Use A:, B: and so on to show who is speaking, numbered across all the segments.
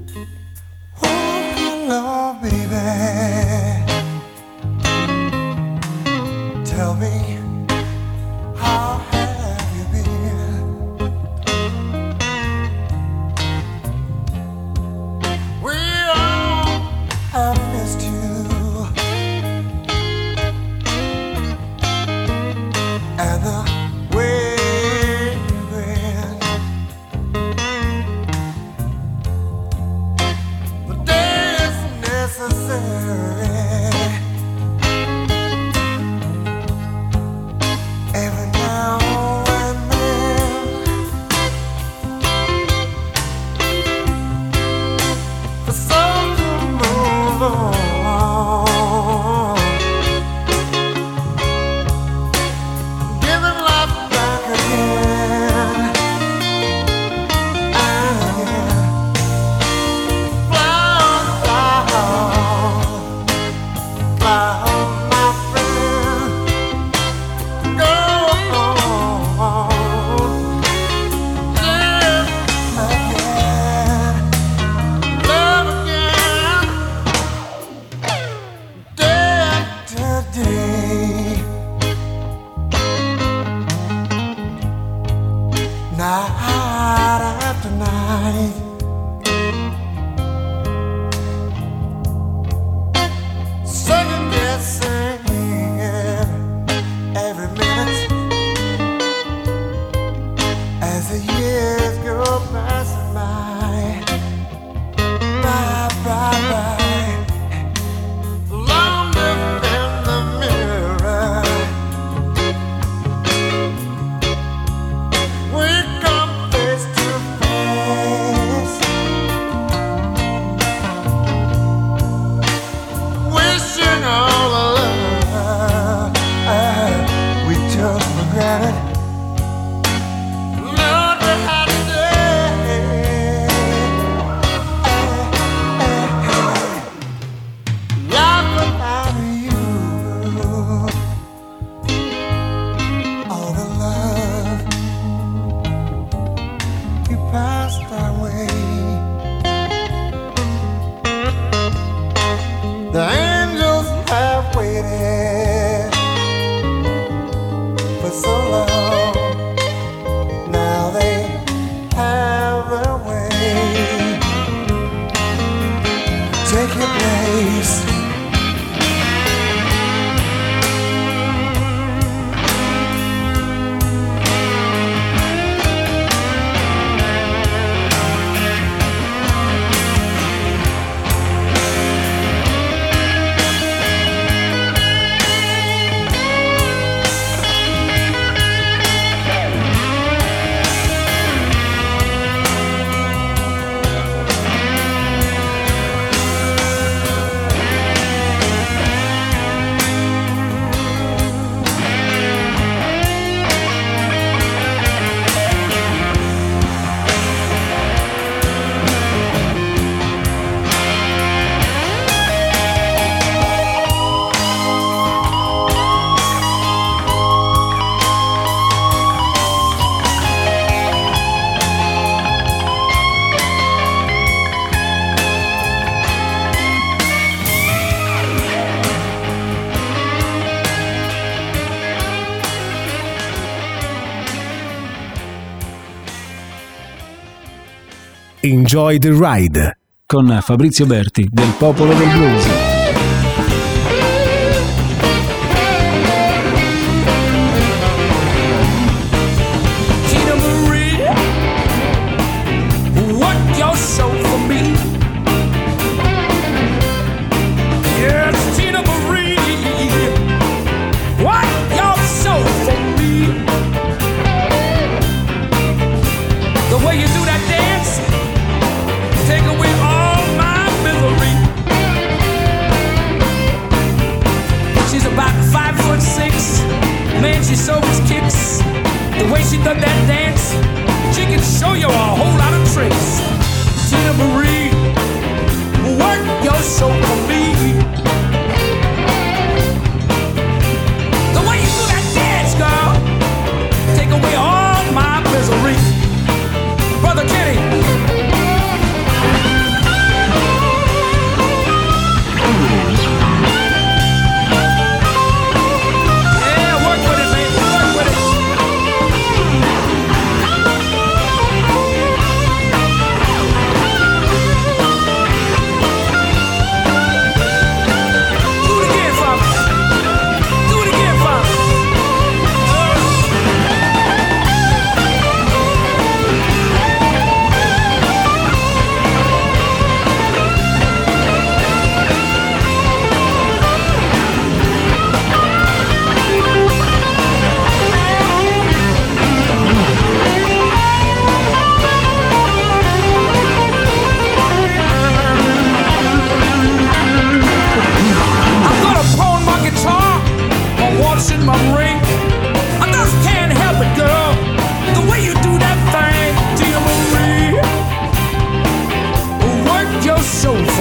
A: Hello, baby. Tell me, how have you been? We all have missed you, and the way you've been. The day is necessary. Every now and then, for some to move on, giving life back again and again. Fly on, fly on, my friend. Go on, live again, love again, day after day, night after night. Second guessing every minute as the years go passing by, by. Longer in the mirror, we come face to face, wishing all the love we took for granted. Lord, we had today. Life without you, all the love you passed our way. The angels have waited for so long. Now they have their way. Take your place.
B: Enjoy the Ride con Fabrizio Berti del Popolo del Blues.
C: Tina Marie, what your show for me? Yes, Tina Marie, what your show for me? The way you do that dance, take away all my misery. She's about 5'6", man, she so much kicks. The way she done that dance, she can show you a whole lot of tricks. Tina Marie, work your show for me. The way you do that dance, girl, take away all my misery. Brother Kenny.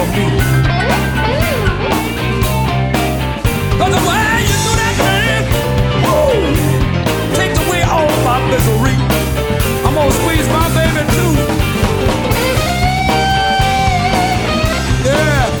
C: be. Cause the way you do that thing, woo, takes away all my misery. I'm gonna squeeze my baby too. Yeah.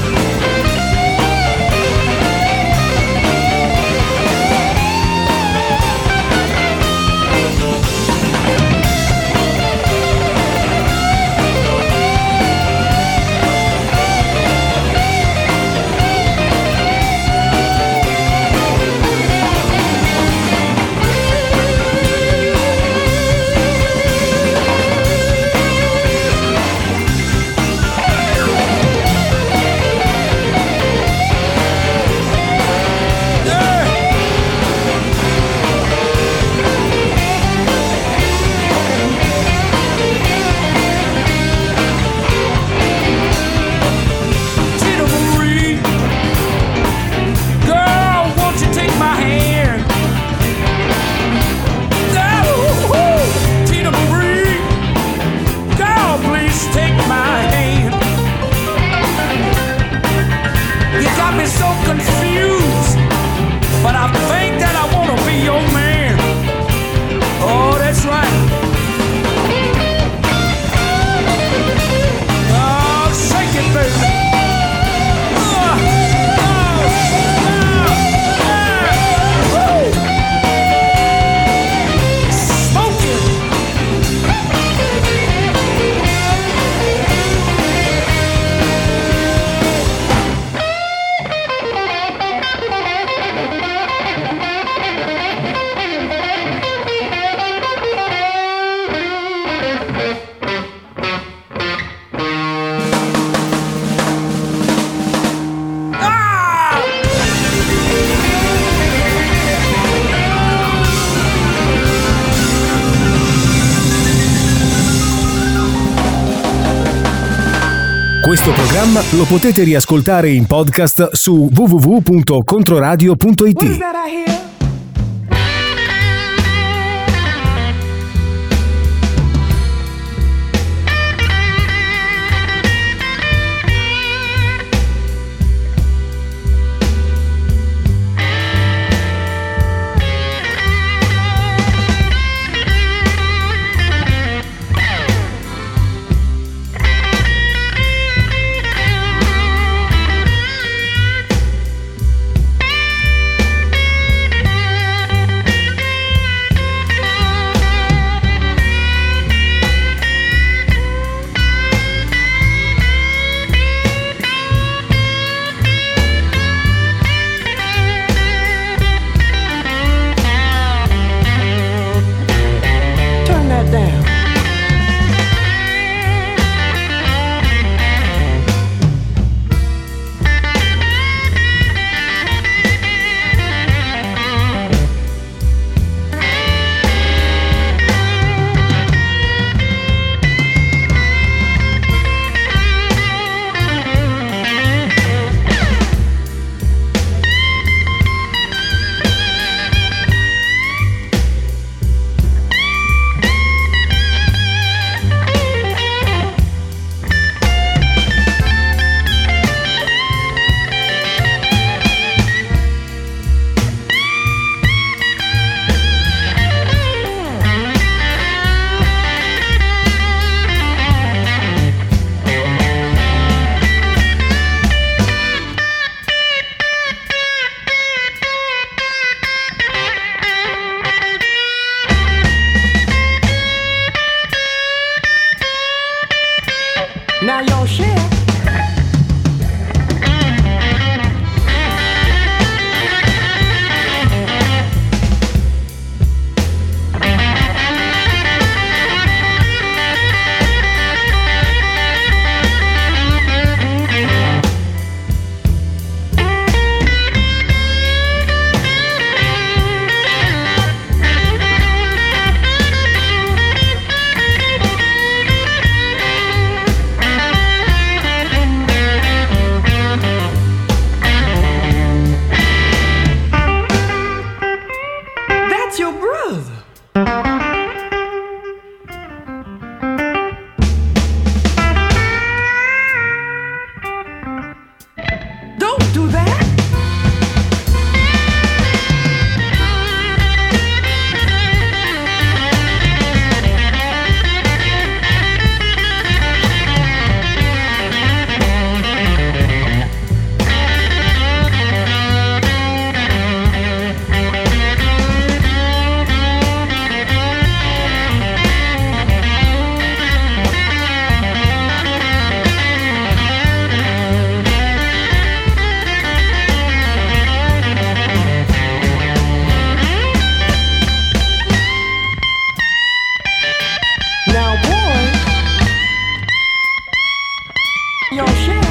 B: Questo programma lo potete riascoltare in podcast su www.controradio.it.
D: Now your share. Your share.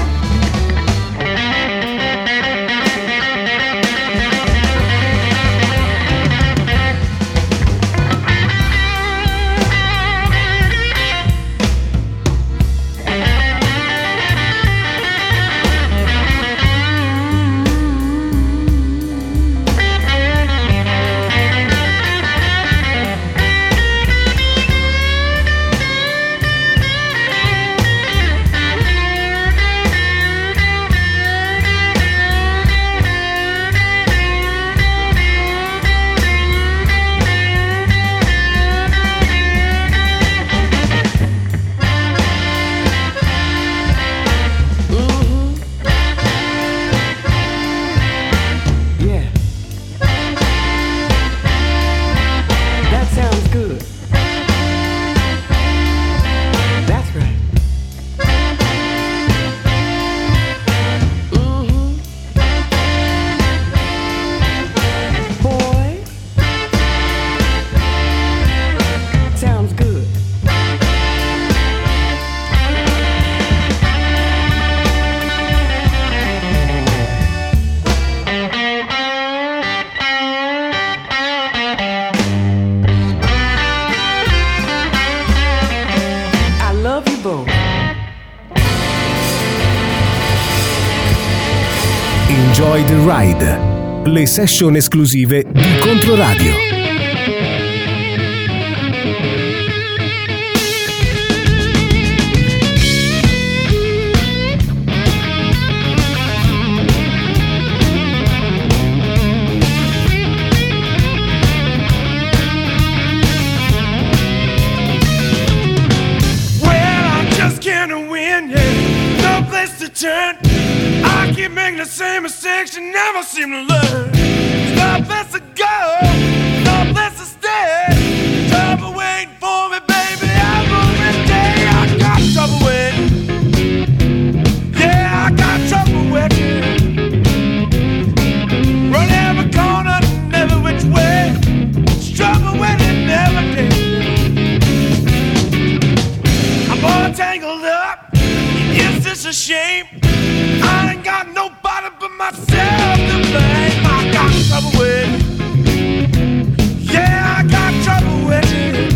B: Enjoy the Ride, le session esclusive di Controradio.
A: Turn. I keep making the same mistakes you never seem to learn. No place to go, no place to stay. Trouble waiting for me, baby, every day. I got trouble waiting. Yeah, I got trouble waiting. Run every corner, never which way. Trouble waiting every day. I'm all tangled up. Is this a shame? I ain't got nobody but myself to blame. I got trouble with. Yeah, I got trouble with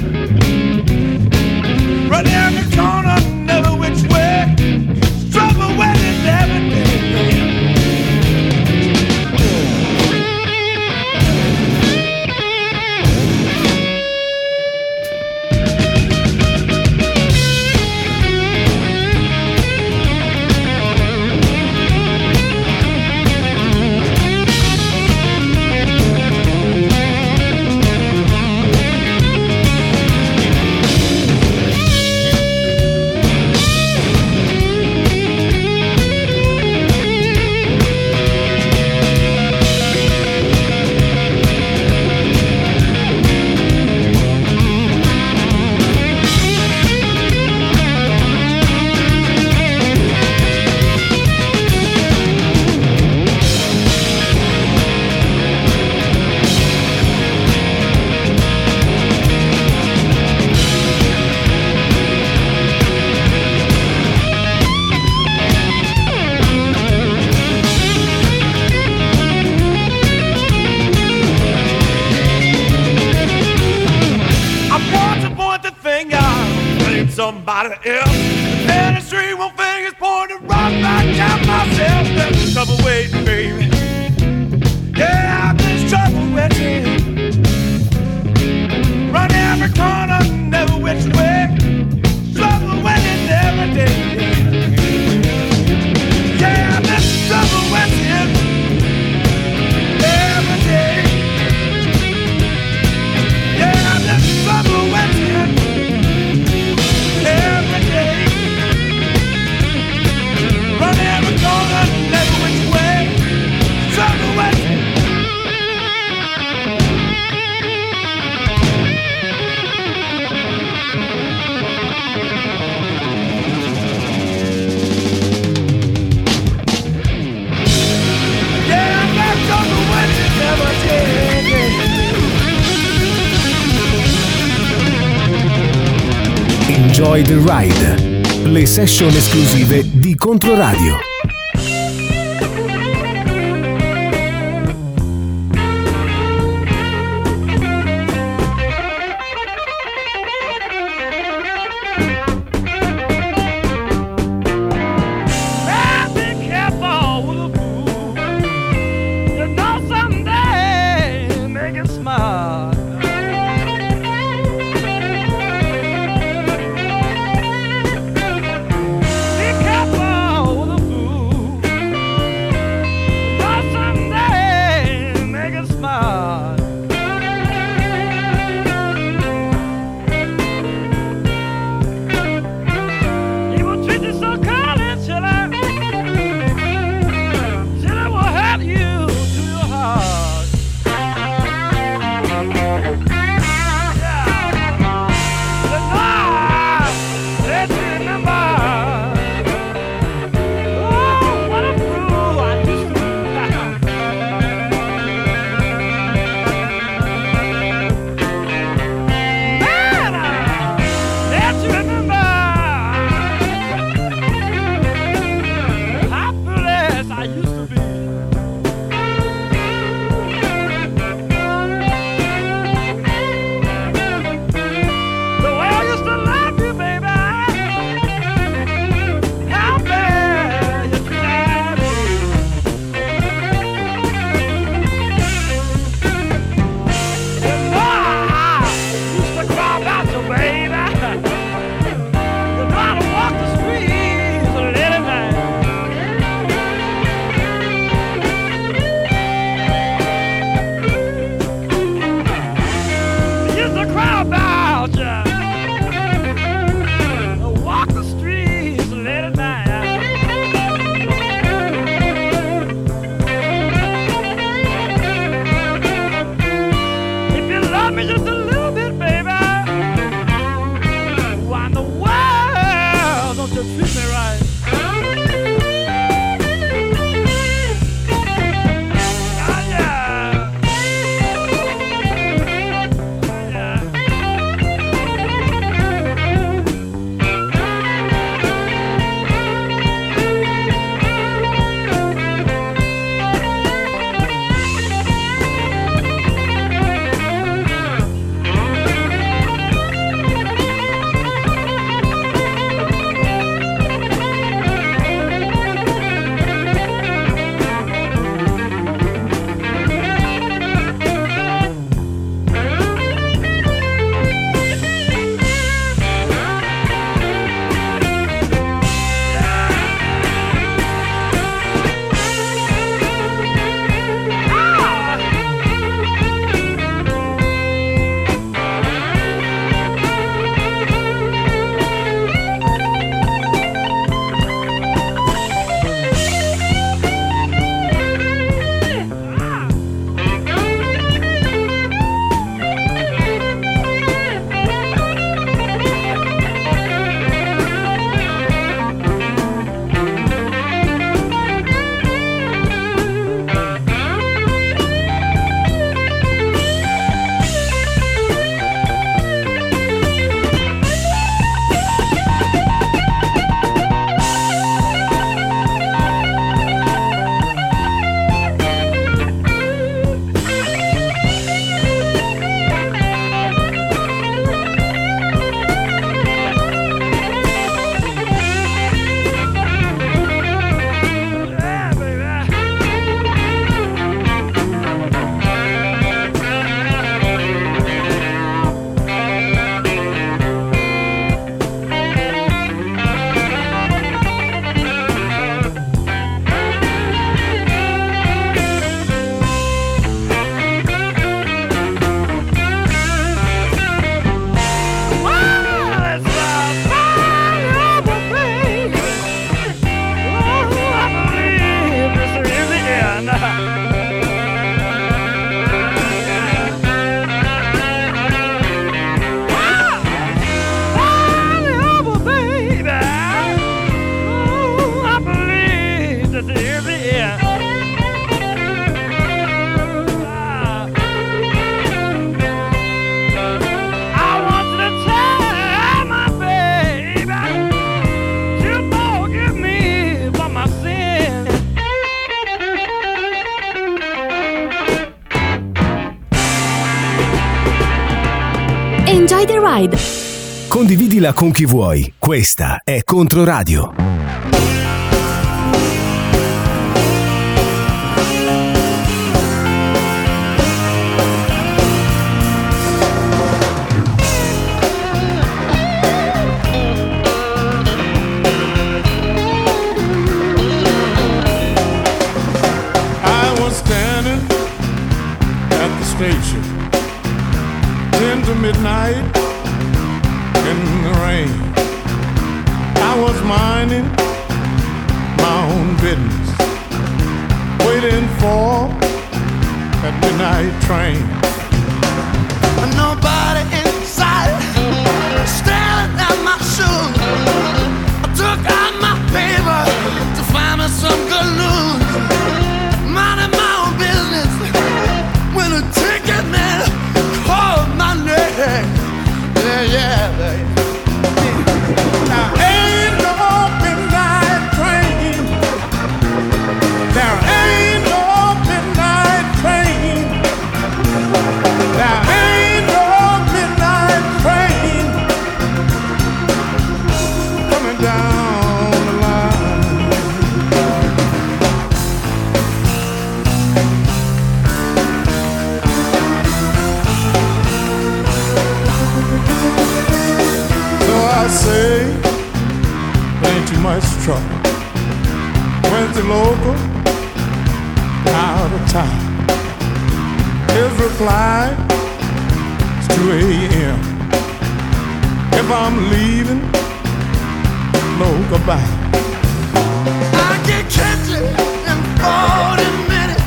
A: it. Run every corner, never which way. Trouble with it every day. Somebody else, and the street one finger's pointing right back at myself. There's trouble waiting, baby. Yeah, there's trouble waiting. Run every corner, never which way. Trouble waiting every day. Yeah, there's trouble waiting every day. Yeah, there's trouble waiting. Every day, run every corner, never which way, trouble waiting. Yeah, I got trouble waiting every day.
B: Enjoy the Ride, le session esclusive di Controradio.
A: Be careful with a fool.
E: Ride.
B: Condividila con chi vuoi. Questa è Controradio.
A: I was standing at the station 10 to midnight in the rain. I was minding my own business, waiting for that midnight train. Nobody inside, staring at my shoes. I took out my paper to find me some good news. Minding my own business when a ticket man called my name. Yeah. Now ain't no midnight train. There ain't no midnight train. There ain't no midnight train coming down the line. So I say, ain't too much trouble. Went to local, out of town. His reply is 2 a.m. If I'm leaving, no goodbye. I can catch it in 40 minutes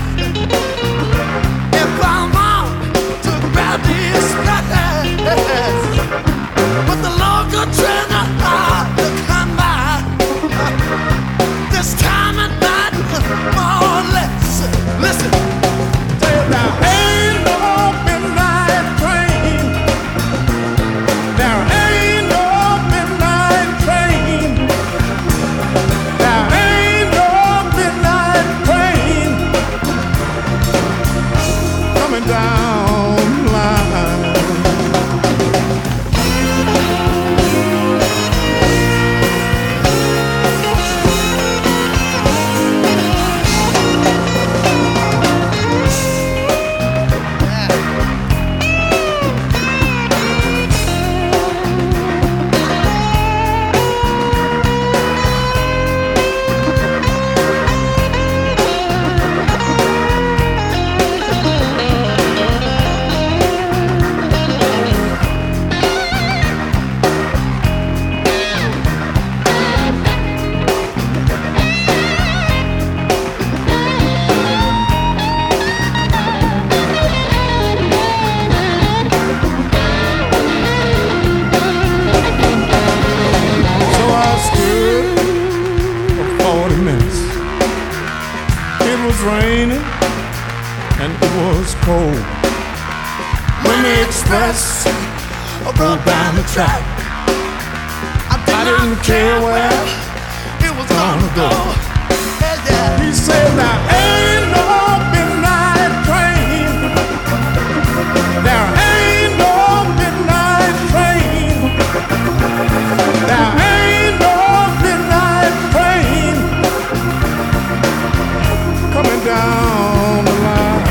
A: if I'm on to grab the express. But the local train are hard to come by. This time at night, more or less. Listen, there ain't no midnight train. There ain't no midnight train. There ain't no midnight train coming down the line. Raining and it was cold when the express broke down the track. I didn't care where it was gonna go. He said there ain't no midnight train. There ain't no midnight train. There ain't no midnight train coming down the line.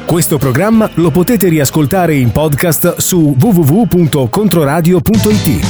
B: Questo programma lo potete riascoltare in podcast su www.controradio.it.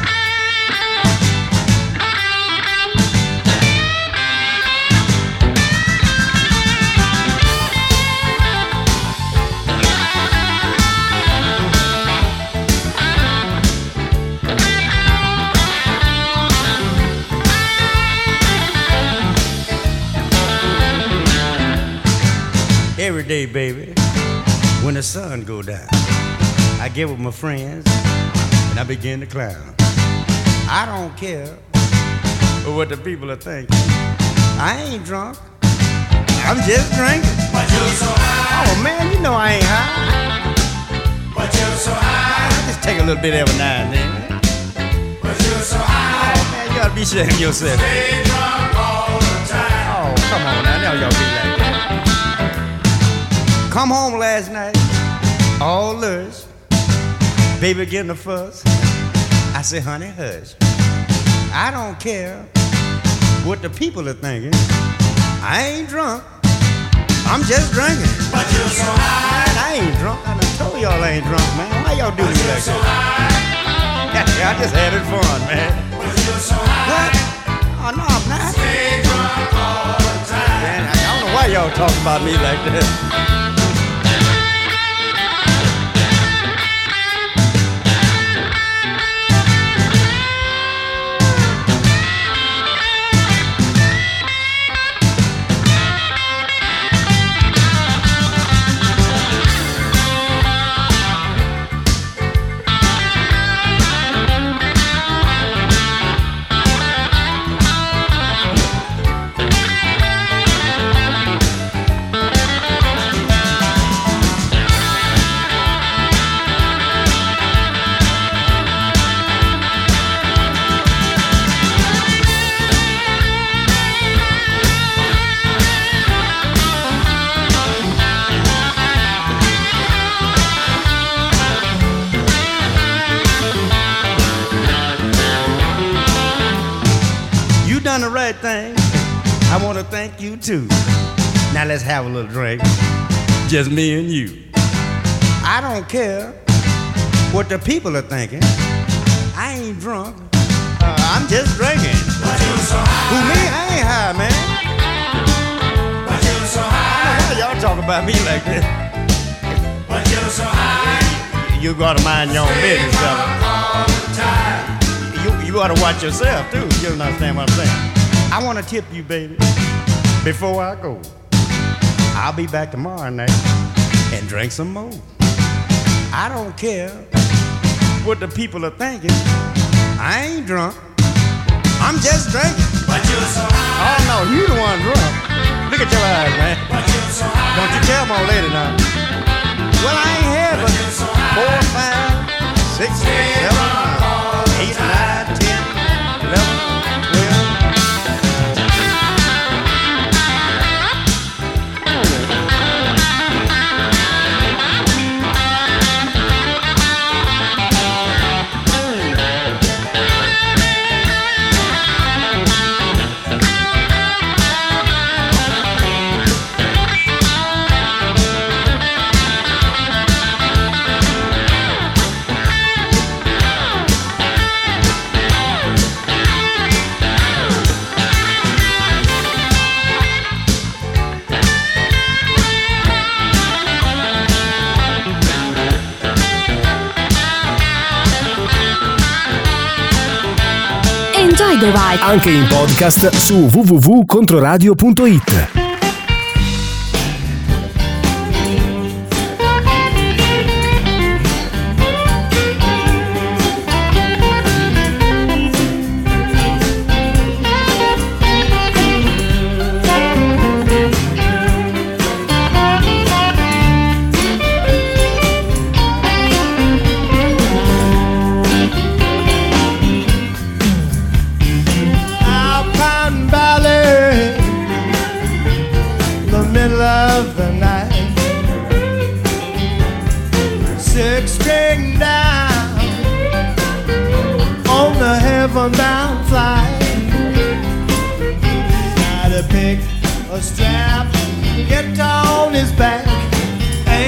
E: Every day, baby, when the sun go down, I get with my friends and I begin to clown. I don't care what the people are thinking. I ain't drunk, I'm just drinking.
A: But you're so high.
E: Oh man, you know I ain't high.
A: But you're so high.
E: I just take a little bit every now and then.
A: But you're so high.
E: Oh man, you ought to be ashamed yourself.
A: Stay drunk all the time.
E: Oh, come on now, now y'all be like that. Come home last night, all lush. Baby getting a fuss. I say, honey, hush. I don't care what the people are thinking. I ain't drunk, I'm just drinking.
A: But you're so high.
E: Man, I ain't drunk. I done told y'all I ain't drunk, man. Why y'all do me like
A: So
E: that?
A: high.
E: I just had it fun, man.
A: But you're so high.
E: What? Oh, no, I'm not.
A: Stay drunk all the time.
E: Man, I don't know why y'all talk about me like that. Done the right thing. I want to thank you too. Now let's have a little drink. Just me and you. I don't care what the people are thinking. I ain't drunk. I'm just drinking.
A: But you're so high.
E: Who me? I ain't high, man.
A: But you're so
E: I
A: high.
E: don't know why y'all talk about me like that.
A: But you're so high.
E: You gotta mind your own business, fella.
A: All the time.
E: You ought to watch yourself too. You don't understand what I'm saying. I want to tip you, baby, before I go. I'll be back tomorrow night and drink some more. I don't care what the people are thinking. I ain't drunk. I'm just drinking.
A: But you're so high.
E: Oh no, you the one drunk. Look at your eyes, man.
A: But you're so high.
E: Don't you tell my old lady now. Well, I ain't had but 4, 5, 6, 7, 8, 9, 10, 11, 12.
B: Enjoy the ride. Anche in podcast su www.controradio.it.
F: Down flight, try to pick a strap, get on his back,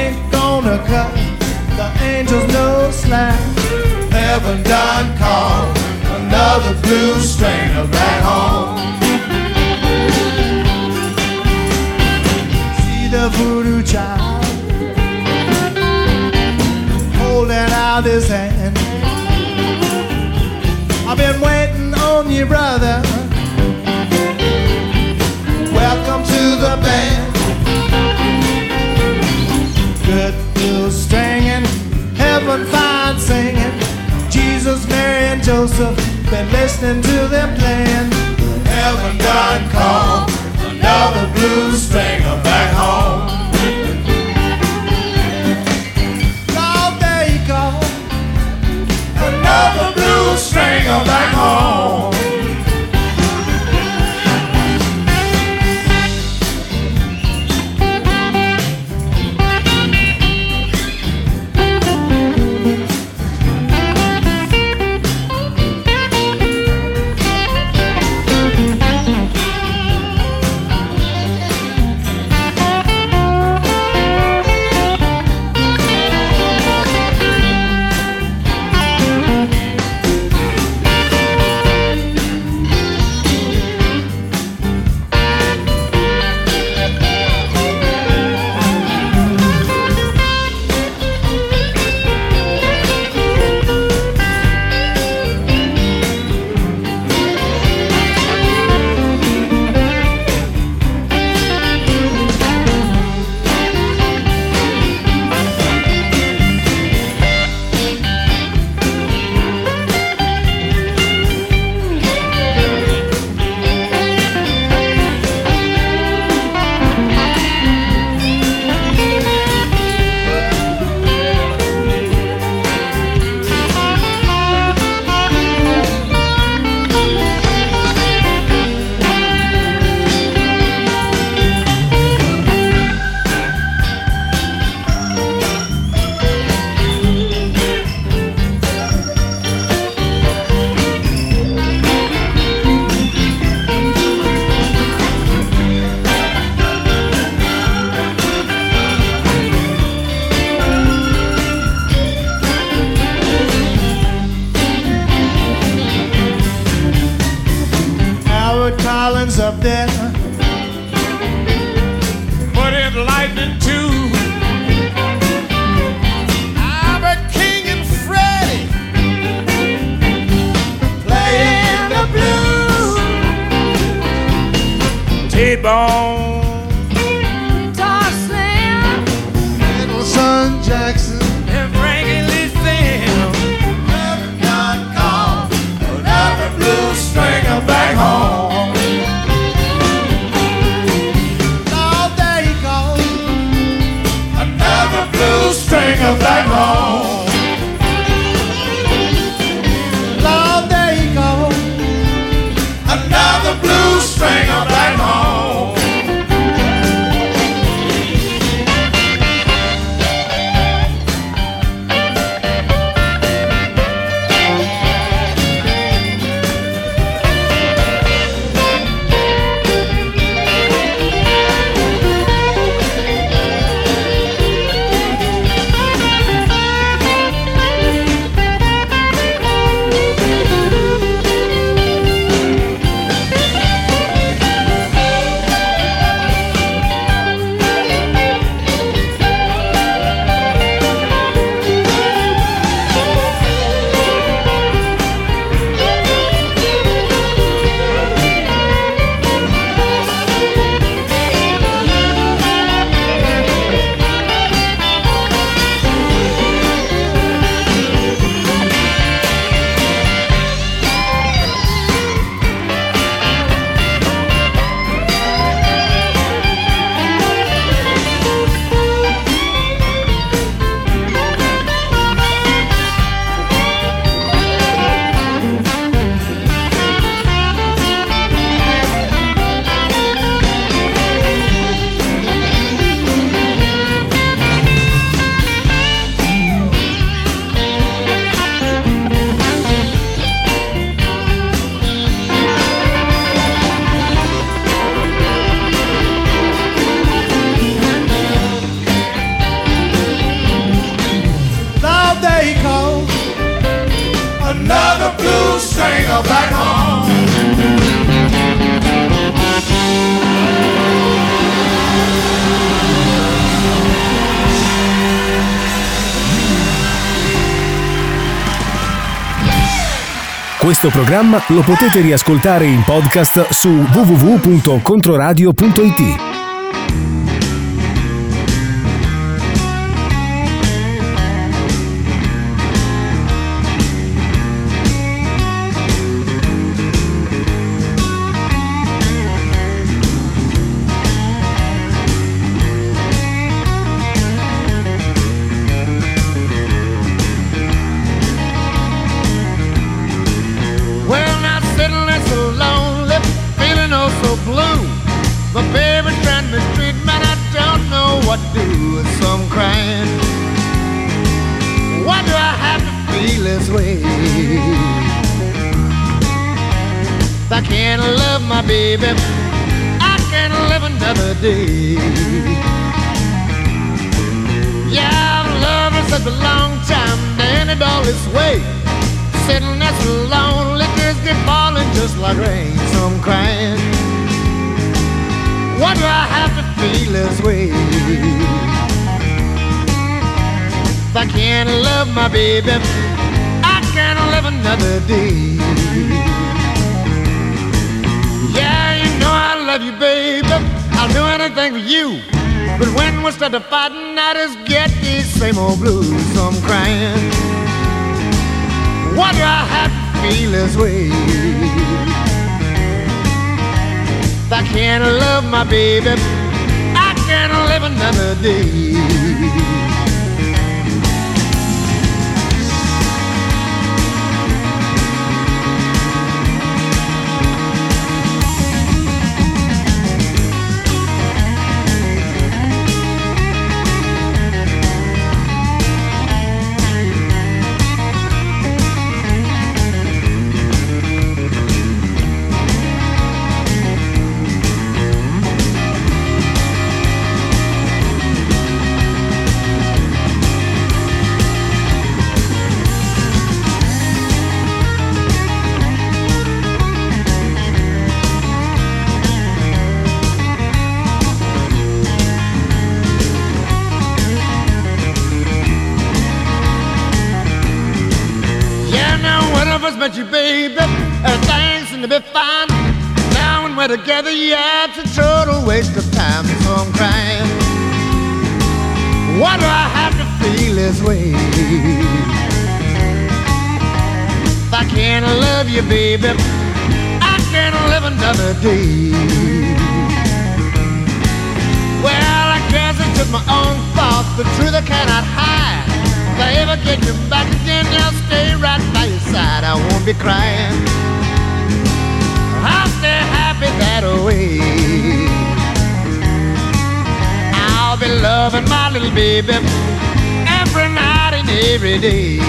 F: gonna cut the angels no slack. Heaven done called another blues stringer back home. See the voodoo child holding out his hand. I've been waiting on you, brother. Welcome to the band. Good blues stringing, heaven fine singing. Jesus, Mary, and Joseph, been listening to them playing. Heaven done called another blues stringer back home. Oh, there you go, another blues stringer back home. what they call another blues stringer back home.
B: Questo programma lo potete riascoltare in podcast su www.controradio.it.
F: I can't love my baby, I can't live another day. Yeah, I've loved her such a long time, and it all this way. Sitting there so lonely, tears get falling just like rain. So I'm crying, why do I have to feel this way? If I can't love my baby, I can't live another day. Yeah, you know I love you, baby, I'll do anything for you. But when we start to fighting, I just get these same old blues. So I'm crying, why do I have to feel this way? If I can't love my baby, I can't live another day. But you, baby, everything seems to be fine. Now when we're together, yeah, it's a total waste of time. So I'm crying, why do I have to feel this way? If I can't love you, baby, I can't live another day. Well, I guess it's just my own fault. The truth I cannot hide. If I ever get you back again, I'll stay right by your side. I won't be crying, I'll stay happy that way. I'll be loving my little baby every night and every day.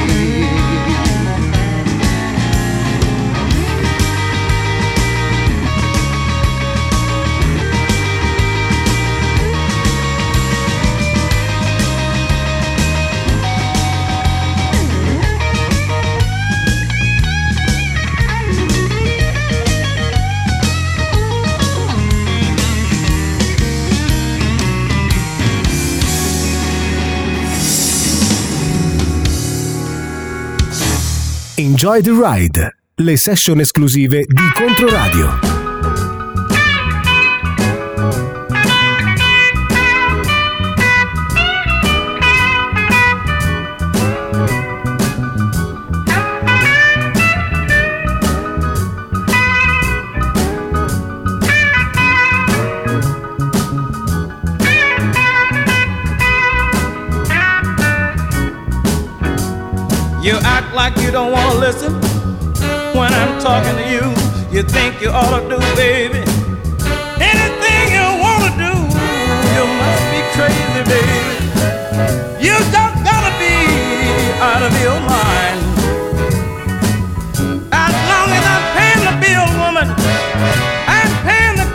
B: Enjoy the Ride, le session esclusive di Controradio.
G: You act like you don't want to listen when I'm talking to you. You think you ought to do, baby, anything you want to do. You must be crazy, baby. You just gotta be out of your mind. As long as I'm paying the bill, woman, I'm paying the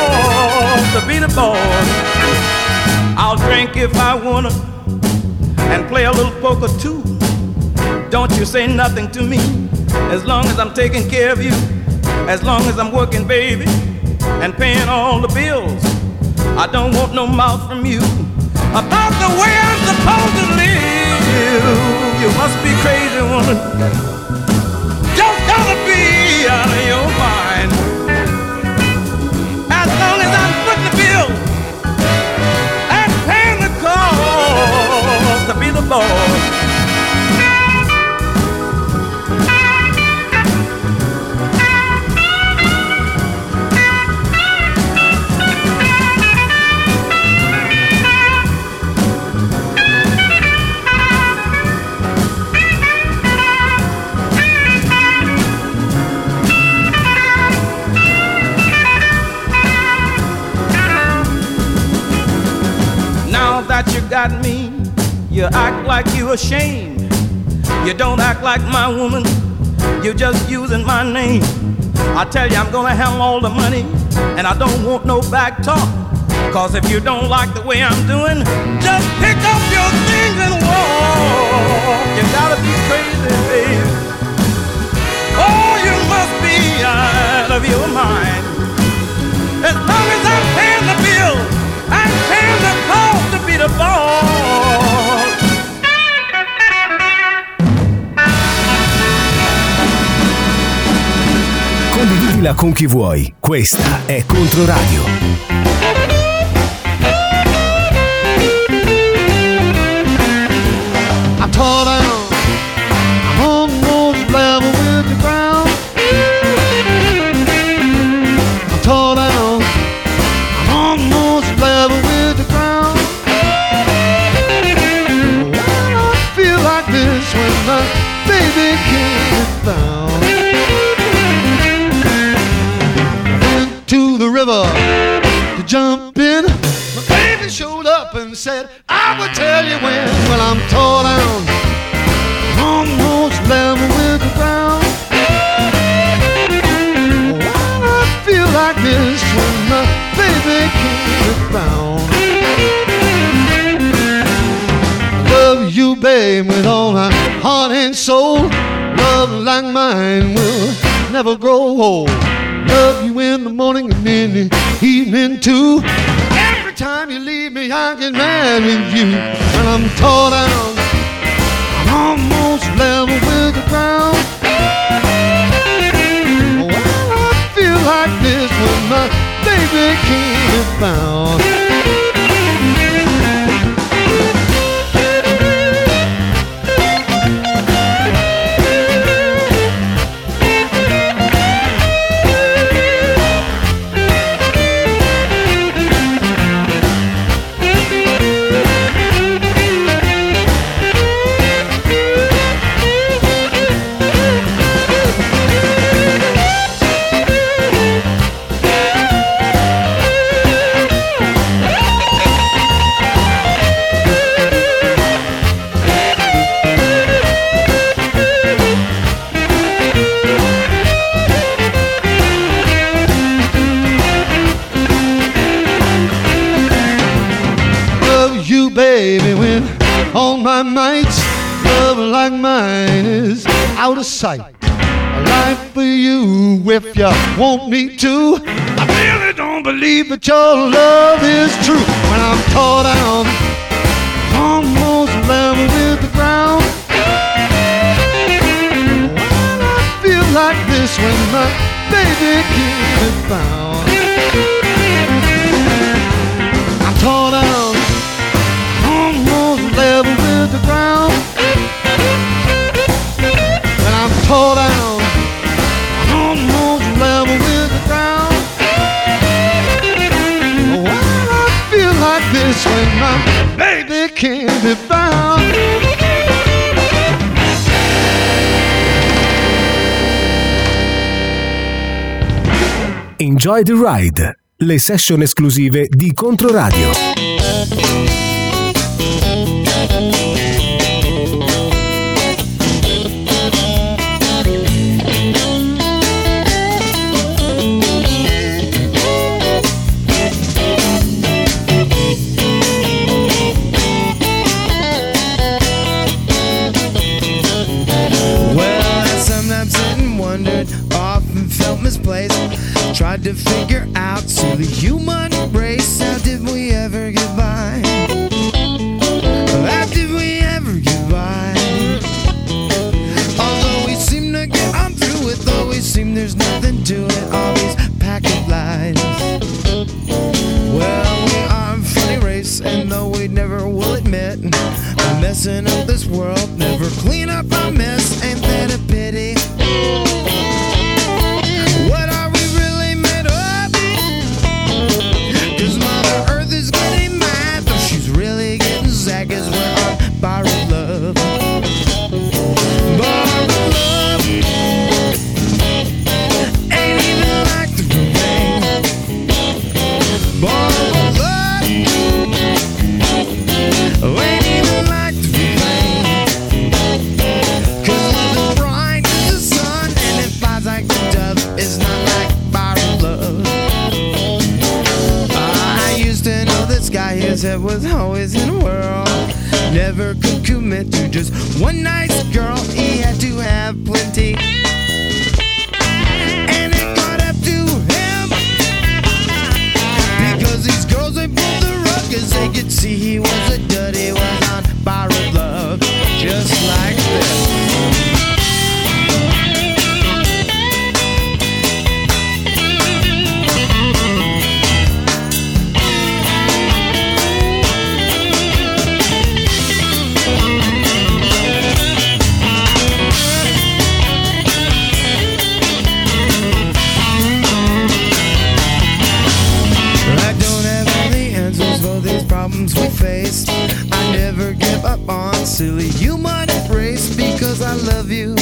G: cost to be the boss. I'll drink if I wanna, and play a little poker too. Don't you say nothing to me, as long as I'm taking care of you, as long as I'm working, baby, and paying all the bills. I don't want no mouth from you about the way I'm supposed to live. You must be crazy, woman. Just gotta be out of your mind. As long as I'm footing the bill and paying the cost to be the boss. That you got me, you act like you ashamed. You don't act like my woman, you're just using my name. I tell you I'm gonna have all the money, and I don't want no back talk. Cause if you don't like the way I'm doing, just pick up your things and walk. You gotta be crazy, baby. Oh, you must be out of your mind. As long as I'm paying the bill, I'm paying the cost to be the boss.
B: Condividila con chi vuoi. Questa è Controradio.
F: I'm tall down, I'm almost level with the ground. I'm tall down, I'm almost level with the ground. Why I feel like this when my baby can't be found? Went to the river to jump in. My baby showed up and said I would tell you when. Well, I'm tall down, almost level with the ground. Why I feel like this when my baby can't be found? Love you, babe, with all my heart and soul. Love like mine will never grow old. Love you in the morning and in the evening too. Every time you leave me, I get mad with you. When I'm tall down, I'm almost level with the ground. Well, I feel like this when my baby can't be found. Baby, when all my might, love like mine is out of sight. I lie for you if you want me to. I really don't believe that your love is true. When I'm tall down, almost level with the ground. Well, I feel like this when my baby can't be found. I'm tall down, almost level with the ground. When I'm tall down, I'm almost level with the ground. Well, I feel like this when my baby can't be found.
B: Enjoy the Ride, le session esclusive di Controradio.
F: tried to figure out, so the human race, how did we ever get by? How did we ever get by? Although we seem to get on through it, though we seem there's nothing to it, all these pack of lies. Well, we are a funny race, and though we never will admit, we're messing up this world, never clean up our mess, ain't that a pity? What are we really made of? 'Cause Mother Earth is getting mad, though she's really getting sad, 'cause we're on borrowed love. Borrowed love ain't even like the real thing. Borrowed love ain't even like the real thing. 'Cause love is bright as the sun, and it flies like the dove. It's not like borrowed love. I used to know this guy, his head was always in a whirl. Never could commit to just one nice girl. He had to have plenty, and it got up to him, because these girls, they pulled the rug, 'cause they could see he was a dud. He was on borrowed love, just like this. I don't have all the answers for these problems we face. I never give up on silly human race, because I love you,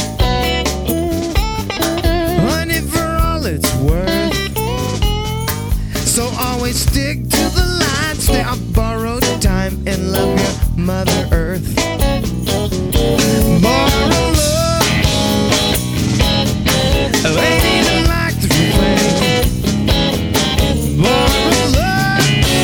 F: honey, for all it's worth. So always stick to the line, stay on borrowed time, and love your Mother Earth. Borrow love ain't even like the real thing. Borrow love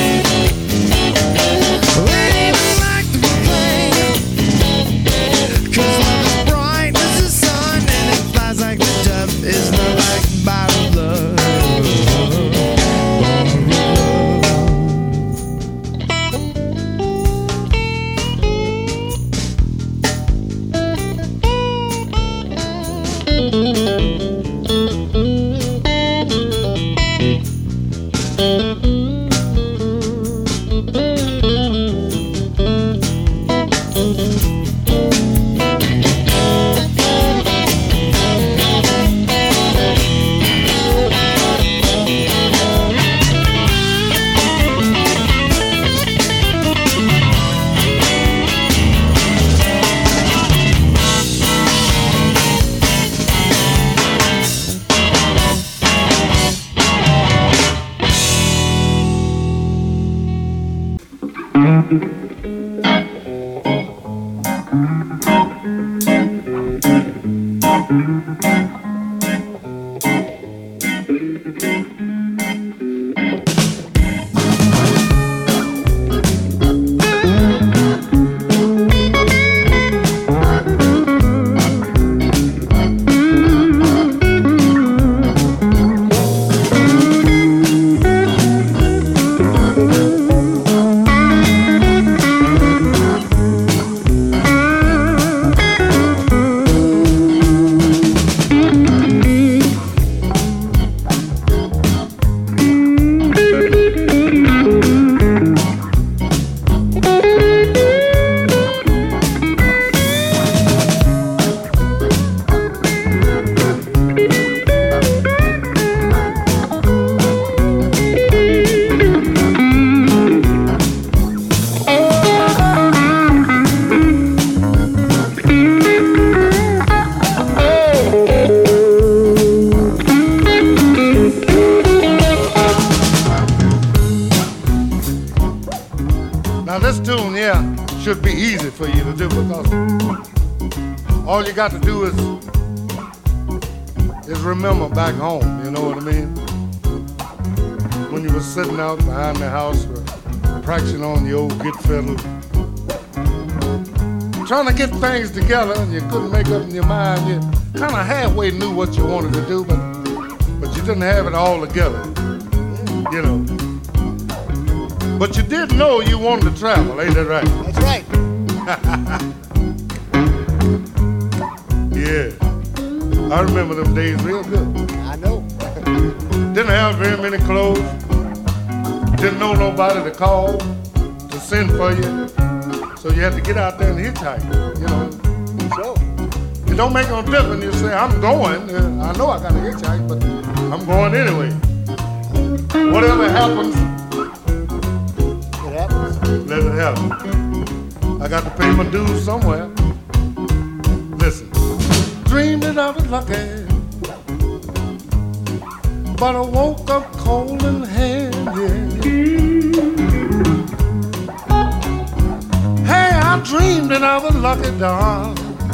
F: ain't even like the real thing. 'Cause love is bright as the sun, and it flies like the dove. It's not like borrowed love.
H: Should be easy for you to do, because all you got to do is remember back home, you know what I mean? When you were sitting out behind the house practicing on the old git fiddle, trying to get things together, and you couldn't make up in your mind. You kind of halfway knew what you wanted to do, but but you didn't have it all together, you know. But you did know you wanted to travel, ain't that right?
F: That's right.
H: Yeah, I remember them days real good.
F: I know.
H: Didn't have very many clothes. Didn't know nobody to call, to send for you. So you had to get out there and hitchhike, you know.
F: So,
H: It don't make no difference. You say, I'm going. I know I got to hitchhike, but I'm going anyway. Whatever happens,
F: it happens.
H: let it happen. I got to pay my dues somewhere. Listen, dreamed that I was lucky, but I woke up cold in hand, yeah. Hey, I dreamed that I was lucky, darling,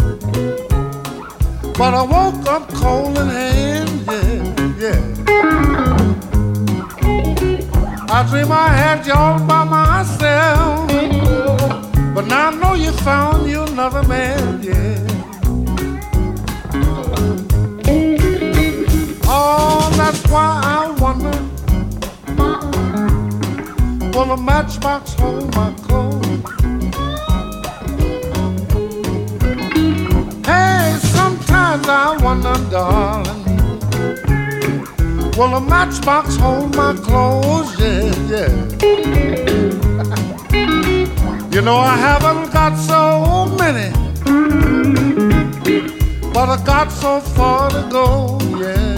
H: but I woke up cold in hand, yeah, yeah. I dream I had you all by myself, but now I know you found you another man, yeah. Oh, that's why I wonder, will a matchbox hold my clothes? Hey, sometimes I wonder, darling, will a matchbox hold my clothes? Yeah, yeah. You know I haven't got so many, but I got so far to go, yeah.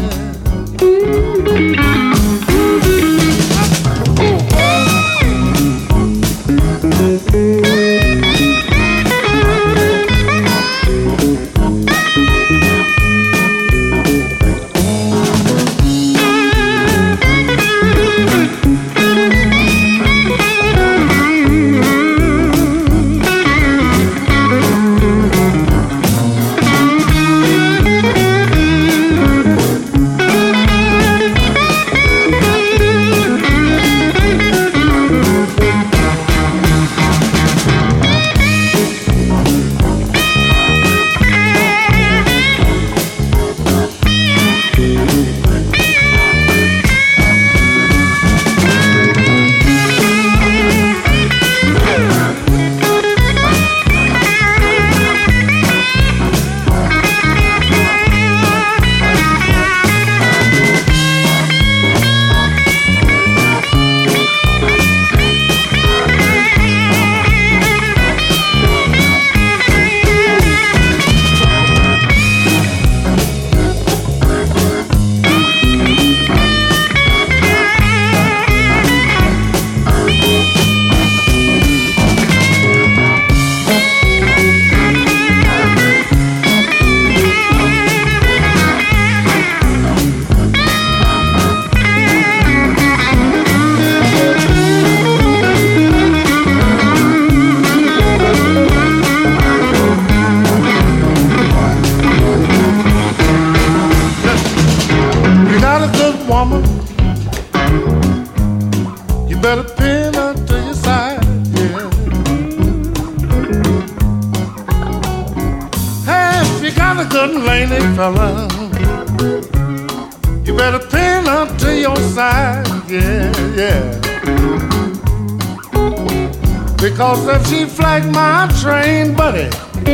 H: Because if she flag my train, buddy,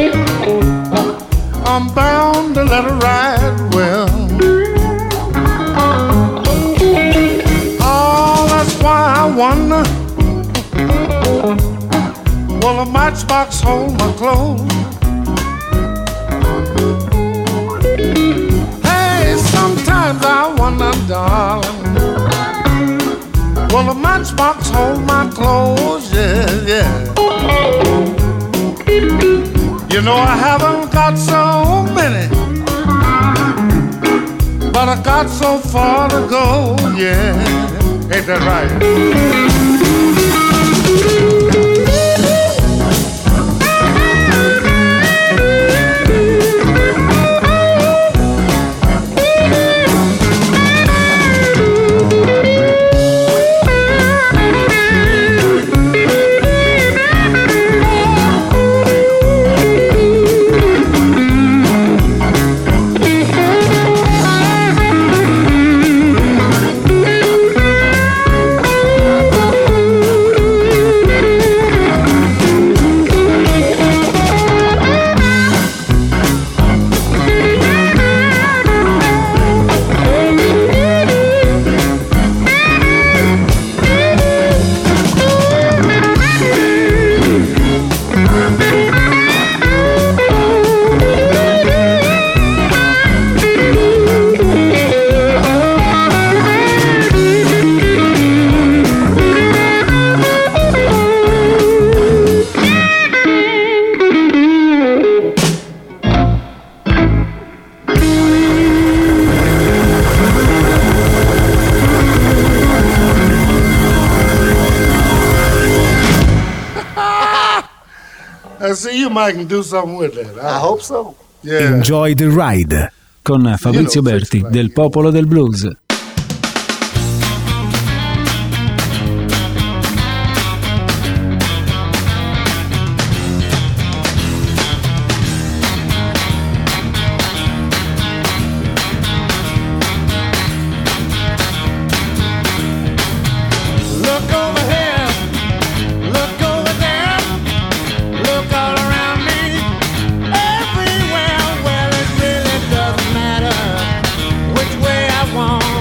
H: I'm bound to let her ride well. Oh, that's why I wonder, will a matchbox hold my clothes? Hey, sometimes I wonder, darling, will a matchbox hold my clothes? Yeah, yeah. You know I haven't got so many, but I got so far to go, yeah. Ain't that right? I see you might can do something with that.
I: I hope so.
H: Yeah.
B: Enjoy the Ride con Fabrizio Berti del Popolo del Blues.
F: Everywhere, well, it really doesn't matter which way I want.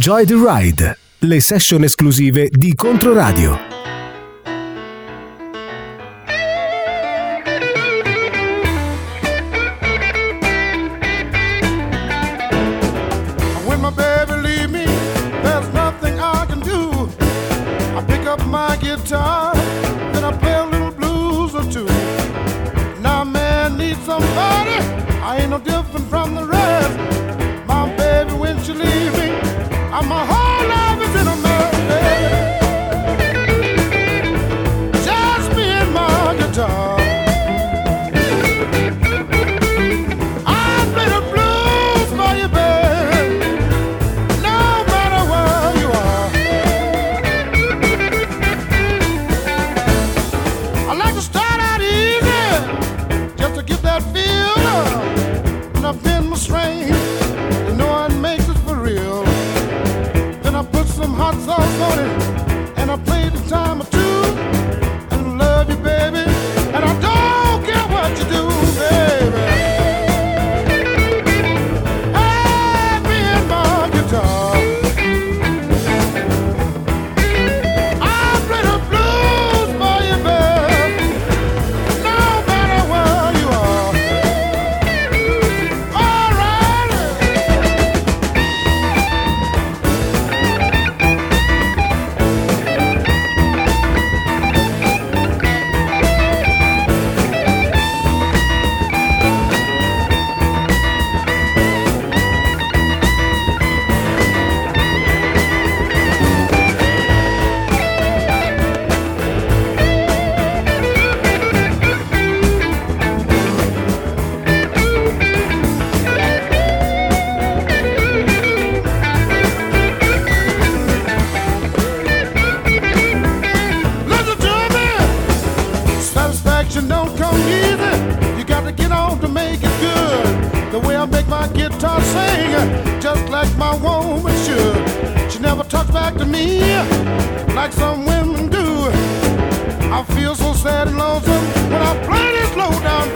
B: Enjoy the Ride, le session esclusive di Controradio.
F: When my baby leave me, there's nothing I can do. I pick up my guitar, then I play a little blues or two. Now man needs somebody, I ain't no different from the rest. My baby, when she leave me, my whole life is in a mess. Just me and my guitar. I play the blues for you, baby, no matter where you are. I like to start out easy, just to get that feel. And I've been my strain, you know it makes it for real. Then I put some hot sauce on it, and I play the time or two, and love you, baby, and I don't care what you do, baby. Hey, me and my guitar, I play the blues for you, baby, no matter where you are. All right. Listen to me. Satisfaction don't come easy. You got to get on to make it good. The way I make my guitar sing, just like my woman should. She never talks back to me like some women do. I feel so sad and lonesome when I play this low down